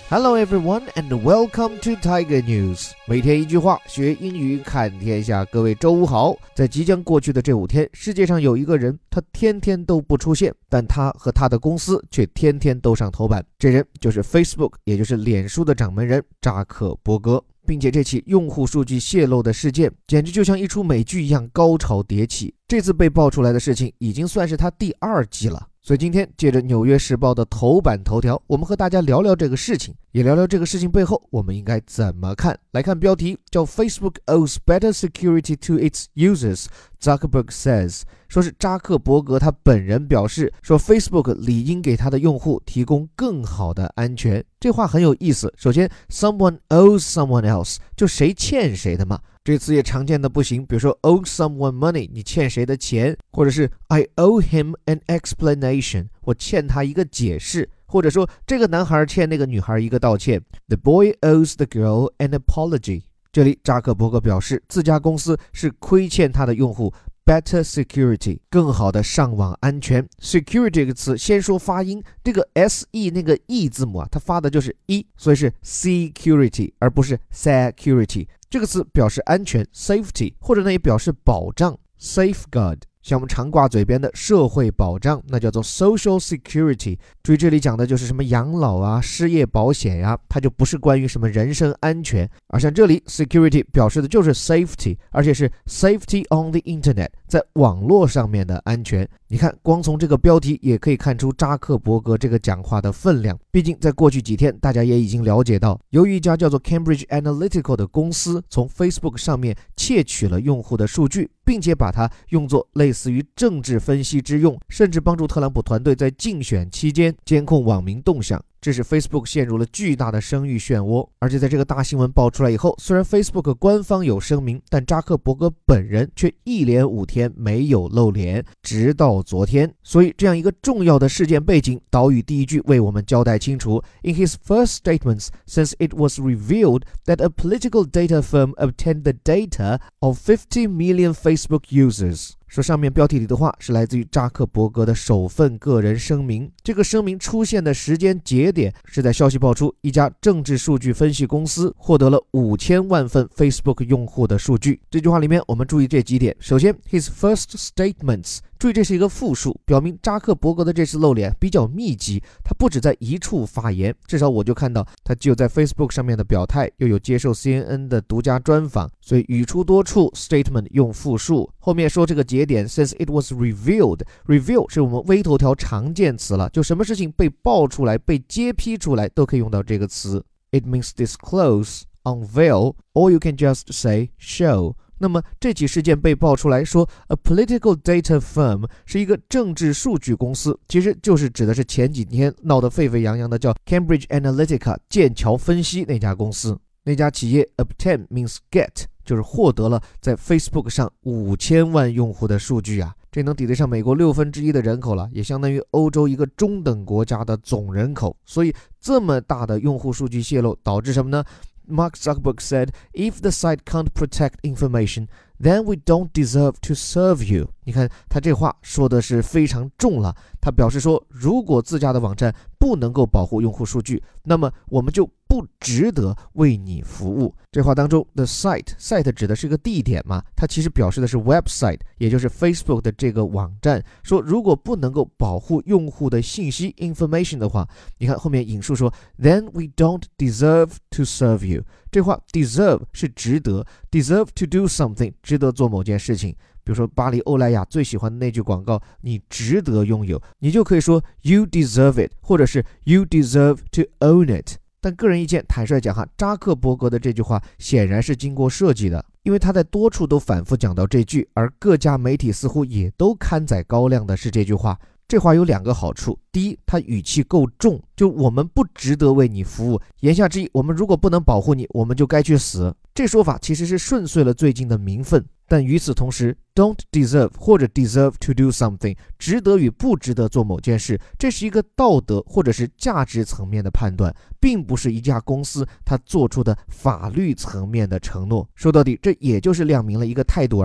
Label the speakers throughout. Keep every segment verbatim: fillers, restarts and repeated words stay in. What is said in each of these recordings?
Speaker 1: Hello everyone and welcome to Tiger News。 每天一句话，学英语看天下。各位周五好。在即将过去的这五天，世界上有一个人，他天天都不出现，但他和他的公司却天天都上头版。这人就是 Facebook， 也就是脸书的掌门人扎克伯格。并且这起用户数据泄露的事件简直就像一出美剧一样高潮迭起。这次被爆出来的事情已经算是他第二季了。所以今天借着纽约时报的头版头条，我们和大家聊聊这个事情，也聊聊这个事情背后我们应该怎么看。来看标题，叫 Facebook owes better security to its users, Zuckerberg says。 说是扎克伯格他本人表示，说 Facebook 理应给他的用户提供更好的安全。这话很有意思。首先 someone owes someone else， 就谁欠谁的嘛。这词也常见的不行，比如说 owe someone money， 你欠谁的钱，或者是 I owe him an explanation， 我欠他一个解释，或者说这个男孩欠那个女孩一个道歉， The boy owes the girl an apology。 这里扎克伯格表示自家公司是亏欠他的用户Better security， 更好的上网安全。 Security 这个词先说发音，这个 S-E 那个 E 字母啊，它发的就是 E， 所以是 security 而不是 security。 这个词表示安全 safety， 或者呢也表示保障 safeguard。像我们常挂嘴边的社会保障，那叫做 social security。 注意这里讲的就是什么养老啊、失业保险呀、啊，它就不是关于什么人身安全。而像这里 security 表示的就是 safety， 而且是 safety on the internet， 在网络上面的安全。你看光从这个标题也可以看出扎克伯格这个讲话的分量。毕竟在过去几天大家也已经了解到，由于一家叫做 Cambridge Analytica 的公司从 Facebook 上面窃取了用户的数据，并且把它用作类似于政治分析之用，甚至帮助特朗普团队在竞选期间监控网民动向。这使 Facebook 陷入了巨大的声誉漩涡。而且在这个大新闻爆出来以后，虽然 Facebook 官方有声明，但扎克伯格本人却一连五天没有露脸，直到昨天。所以这样一个重要的事件背景，岛屿第一句为我们交代清楚。 In his first statements, since it was revealed that a political data firm obtained the data of fifty million Facebook users，说上面标题里的话是来自于扎克伯格的首份个人声明。这个声明出现的时间节点是在消息爆出一家政治数据分析公司获得了五千万份 Facebook 用户的数据。这句话里面我们注意这几点。首先 his first statements， 注意这是一个复数，表明扎克伯格的这次露脸比较密集，他不止在一处发言，至少我就看到他既有在 Facebook 上面的表态，又有接受 C N N 的独家专访，所以语出多处， statement 用复数。后面说这个节点 since it was revealed， reveal 是我们微头条常见词了，就什么事情被爆出来被揭批出来都可以用到这个词。 It means disclose, unveil, or you can just say show。那么这起事件被爆出来说 A political data firm 是一个政治数据公司，其实就是指的是前几天闹得沸沸扬扬的叫 Cambridge Analytica 剑桥分析那家公司。那家企业 obtain means get， 就是获得了在 Facebook 上五千万用户的数据啊，这能抵得上美国六分之一的人口了，也相当于欧洲一个中等国家的总人口。所以这么大的用户数据泄露导致什么呢？Mark Zuckerberg said, if the site can't protect information, then we don't deserve to serve you. 你看他这话说的是非常重了。他表示说，如果自家的网站不能够保护用户数据，那么我们就不值得为你服务。这话当中 the site site 指的是个地点嘛，它其实表示的是 website， 也就是 Facebook 的这个网站。说如果不能够保护用户的信息 information 的话，你看后面引述说 then we don't deserve to serve you。 这话 deserve 是值得， deserve to do something 值得做某件事情。比如说巴黎欧莱雅最喜欢的那句广告，你值得拥有，你就可以说 you deserve it， 或者是 you deserve to own it。 但个人意见坦率讲哈，扎克伯格的这句话显然是经过设计的，因为他在多处都反复讲到这句，而各家媒体似乎也都刊载高亮的是这句话。这话有两个好处，第一，它语气够重，就我们不值得为你服务，言下之意我们如果不能保护你，我们就该去死。这说法其实是顺遂了最近的民愤，但与此同时 don't deserve 或者 deserve to do something 值得与不值得做某件事，这是一个道德或者是价值层面的判断，并不是一家公司它做出的法律层面的承诺。说到底这也就是亮明了一个态度而已。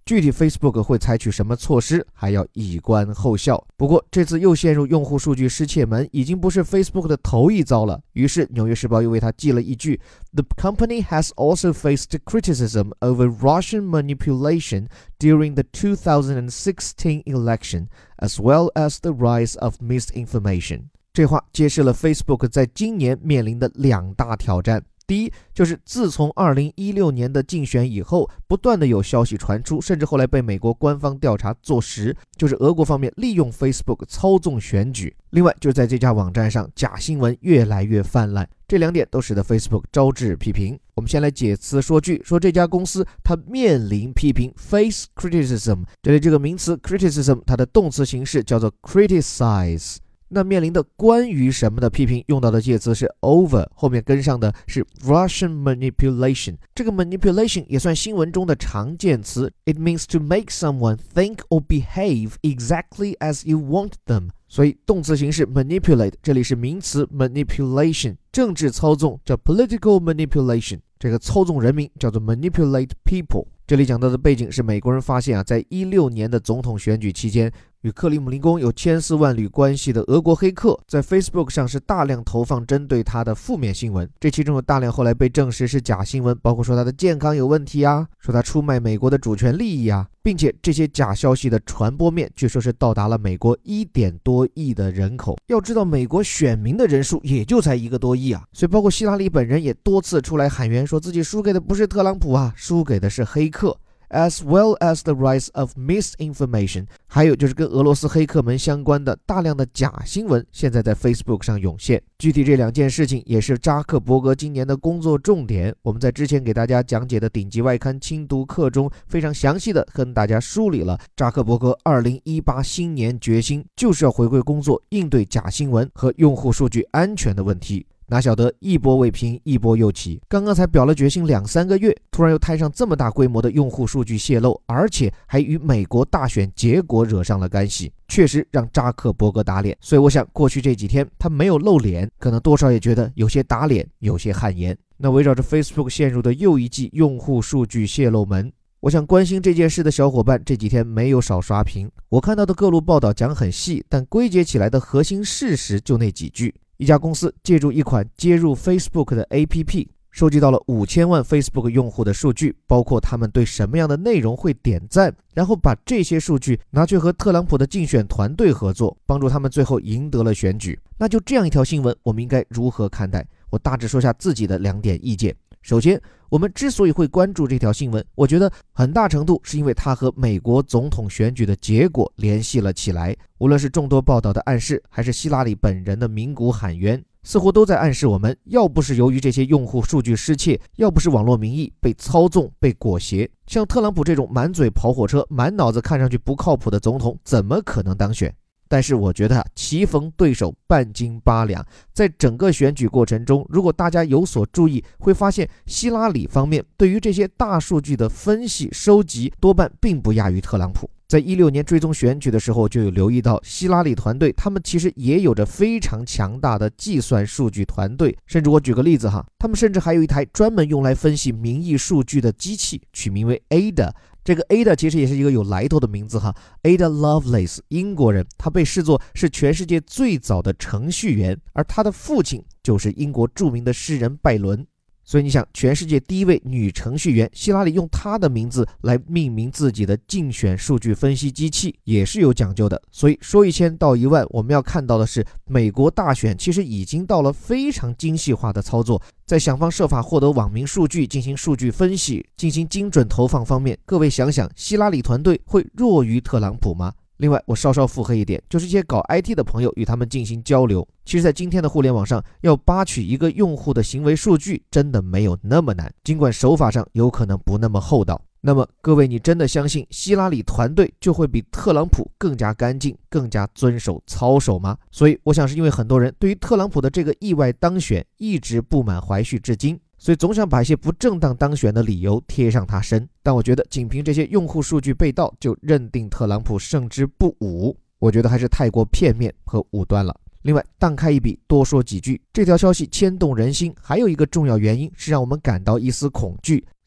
Speaker 1: 具体 Facebook 会采取什么措施，还要以观后效。不过这次又陷入用户数据失窃门，已经不是 Facebook 的头一遭了。于是纽约时报又为他记了一句 The company has also faced criticism over Russian manipulation during the two thousand sixteen election, as well as the rise of misinformation。 这话揭示了 Facebook 在今年面临的两大挑战。第一，就是自从二零一六年的竞选以后，不断的有消息传出，甚至后来被美国官方调查坐实，就是俄国方面利用 Facebook 操纵选举。另外，就是在这家网站上，假新闻越来越泛滥，这两点都使得 Facebook 招致批评。我们先来解词说句，说这家公司它面临批评 face criticism， 这里这个名词 criticism 它的动词形式叫做 criticize。那面临的关于什么的批评，用到的介词是 over， 后面跟上的是 Russian manipulation。 这个 manipulation 也算新闻中的常见词， It means to make someone think or behave exactly as you want them。 所以动词形式 manipulate 这里是名词 manipulation， 政治操纵叫 political manipulation， 这个操纵人民叫做 manipulate people。 这里讲到的背景是美国人发现啊，在一六年的总统选举期间，与克里姆林宫有千丝万缕关系的俄国黑客在 Facebook 上是大量投放针对他的负面新闻，这其中有大量后来被证实是假新闻，包括说他的健康有问题啊，说他出卖美国的主权利益啊，并且这些假消息的传播面据说是到达了美国一点多亿的人口。要知道美国选民的人数也就才一个多亿啊，所以包括希拉里本人也多次出来喊冤，说自己输给的不是特朗普啊，输给的是黑客。as well as the rise of misinformation， 还有就是跟俄罗斯黑客们相关的大量的假新闻现在在 Facebook 上涌现。具体这两件事情也是扎克伯格今年的工作重点，我们在之前给大家讲解的顶级外刊精读课中非常详细的跟大家梳理了扎克伯格二零一八新年决心，就是要回归工作，应对假新闻和用户数据安全的问题。哪晓得一波未平一波又起，刚刚才表了决心两三个月，突然又摊上这么大规模的用户数据泄露，而且还与美国大选结果惹上了干系，确实让扎克伯格打脸。所以我想过去这几天他没有露脸，可能多少也觉得有些打脸，有些汗颜。那围绕着 Facebook 陷入的又一记用户数据泄露门，我想关心这件事的小伙伴这几天没有少刷屏。我看到的各路报道讲很细，但归结起来的核心事实就那几句。一家公司借助一款接入 Facebook 的 A P P， 收集到了五千万 Facebook 用户的数据，包括他们对什么样的内容会点赞，然后把这些数据拿去和特朗普的竞选团队合作，帮助他们最后赢得了选举。那就这样一条新闻，我们应该如何看待？我大致说下自己的两点意见。首先，我们之所以会关注这条新闻，我觉得很大程度是因为它和美国总统选举的结果联系了起来。无论是众多报道的暗示，还是希拉里本人的鸣鼓喊冤，似乎都在暗示我们，要不是由于这些用户数据失窃，要不是网络民意被操纵被裹挟，像特朗普这种满嘴跑火车满脑子看上去不靠谱的总统怎么可能当选？但是我觉得棋逢对手半斤八两，在整个选举过程中，如果大家有所注意，会发现希拉里方面对于这些大数据的分析收集多半并不亚于特朗普。在一六年追踪选举的时候，就有留意到希拉里团队他们其实也有着非常强大的计算数据团队，甚至我举个例子哈，他们甚至还有一台专门用来分析民意数据的机器，取名为 A D A。这个 A D A 其实也是一个有来头的名字哈 ，Ada Lovelace， 英国人，他被视作是全世界最早的程序员，而他的父亲就是英国著名的诗人拜伦。所以你想，全世界第一位女程序员希拉里用她的名字来命名自己的竞选数据分析机器，也是有讲究的。所以说一千道一万，我们要看到的是，美国大选其实已经到了非常精细化的操作，在想方设法获得网民数据，进行数据分析，进行精准投放方面，各位想想，希拉里团队会弱于特朗普吗？另外，我稍稍附和一点，就是一些搞 I T 的朋友与他们进行交流。其实在今天的互联网上，要扒取一个用户的行为数据真的没有那么难，尽管手法上有可能不那么厚道。那么各位，你真的相信希拉里团队就会比特朗普更加干净，更加遵守操守吗？所以我想是因为很多人对于特朗普的这个意外当选一直不满怀序至今，所以总想把一些不正当当选的理由贴上他身。但我觉得仅凭这些用户数据被盗就认定特朗普胜之不武，我觉得还是太过片面和武断了。另外，荡开一笔多说几句，这条消息牵动人心还有一个重要原因是让我们感到一丝恐惧。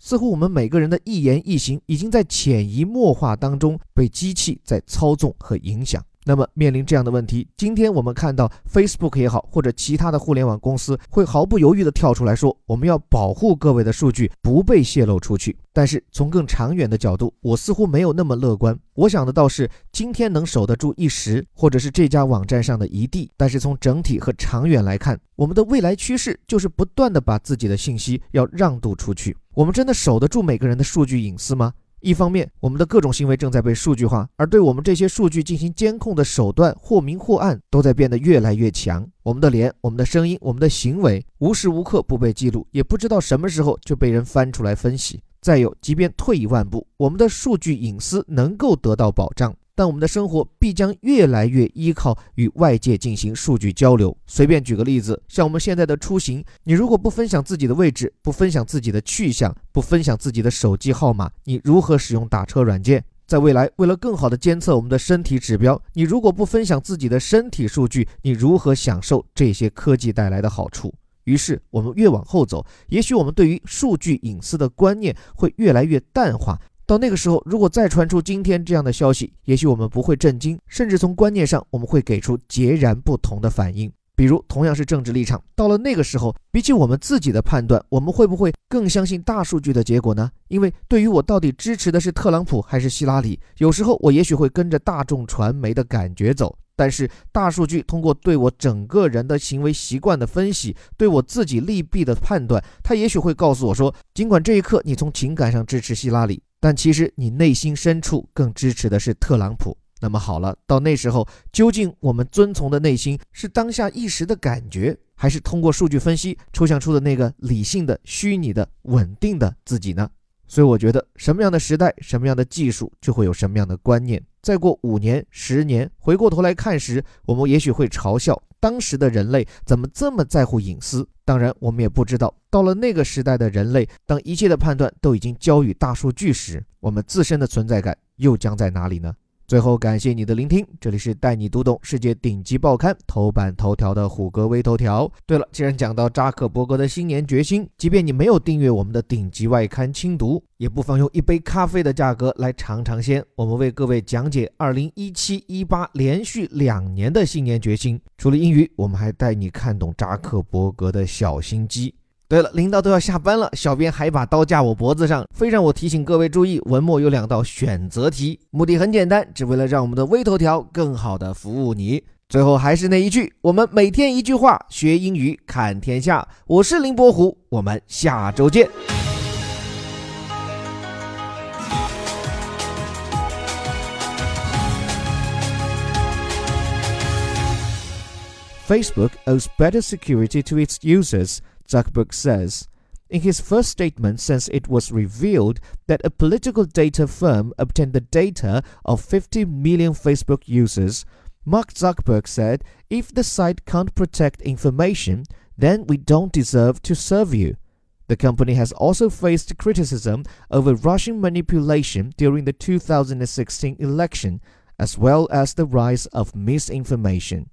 Speaker 1: 似乎我们每个人的一言一行已经在潜移默化当中被机器在操纵和影响。那么面临这样的问题，今天我们看到 Facebook 也好，或者其他的互联网公司会毫不犹豫地跳出来说，我们要保护各位的数据不被泄露出去。但是从更长远的角度，我似乎没有那么乐观。我想的倒是今天能守得住一时，或者是这家网站上的一地，但是从整体和长远来看，我们的未来趋势就是不断地把自己的信息要让渡出去。我们真的守得住每个人的数据隐私吗？一方面，我们的各种行为正在被数据化，而对我们这些数据进行监控的手段或明或暗都在变得越来越强。我们的脸、我们的声音、我们的行为无时无刻不被记录，也不知道什么时候就被人翻出来分析。再有，即便退一万步，我们的数据隐私能够得到保障，但我们的生活必将越来越依靠与外界进行数据交流。随便举个例子，像我们现在的出行，你如果不分享自己的位置，不分享自己的去向，不分享自己的手机号码，你如何使用打车软件？在未来，为了更好地监测我们的身体指标，你如果不分享自己的身体数据，你如何享受这些科技带来的好处？于是我们越往后走，也许我们对于数据隐私的观念会越来越淡化。到那个时候，如果再传出今天这样的消息，也许我们不会震惊，甚至从观念上我们会给出截然不同的反应。比如同样是政治立场，到了那个时候，比起我们自己的判断，我们会不会更相信大数据的结果呢？因为对于我到底支持的是特朗普还是希拉里，有时候我也许会跟着大众传媒的感觉走，但是大数据通过对我整个人的行为习惯的分析，对我自己利弊的判断，它也许会告诉我说，尽管这一刻你从情感上支持希拉里，但其实你内心深处更支持的是特朗普。那么好了，到那时候，究竟我们遵从的内心是当下一时的感觉，还是通过数据分析抽象出的那个理性的、虚拟的、稳定的自己呢？所以我觉得，什么样的时代，什么样的技术，就会有什么样的观念。再过五年、十年，回过头来看时，我们也许会嘲笑当时的人类怎么这么在乎隐私。当然，我们也不知道，到了那个时代的人类，当一切的判断都已经交予大数据时，我们自身的存在感又将在哪里呢？最后感谢你的聆听，这里是带你读懂世界顶级报刊头版头条的虎哥微头条。对了，既然讲到扎克伯格的新年决心，即便你没有订阅我们的顶级外刊轻读，也不妨用一杯咖啡的价格来尝尝鲜。我们为各位讲解二零一七一八连续两年的新年决心。除了英语，我们还带你看懂扎克伯格的小心机。对了，领导都要下班了，小编还把刀架我脖子上，非让我提醒各位注意，文末有两道选择题，目的很简单，只为了让我们的微头条更好的服务你。最后还是那一句，我们每天一句话，学英语看天下。我是林伯虎，我们下周见。Facebook owes better security to its users, Zuckerberg says. In his first statement since it was revealed that a political data firm obtained the data of fifty million Facebook users, Mark Zuckerberg said, if the site can't protect information, then we don't deserve to serve you. The company has also faced criticism over Russian manipulation during the two thousand sixteen election, as well as the rise of misinformation.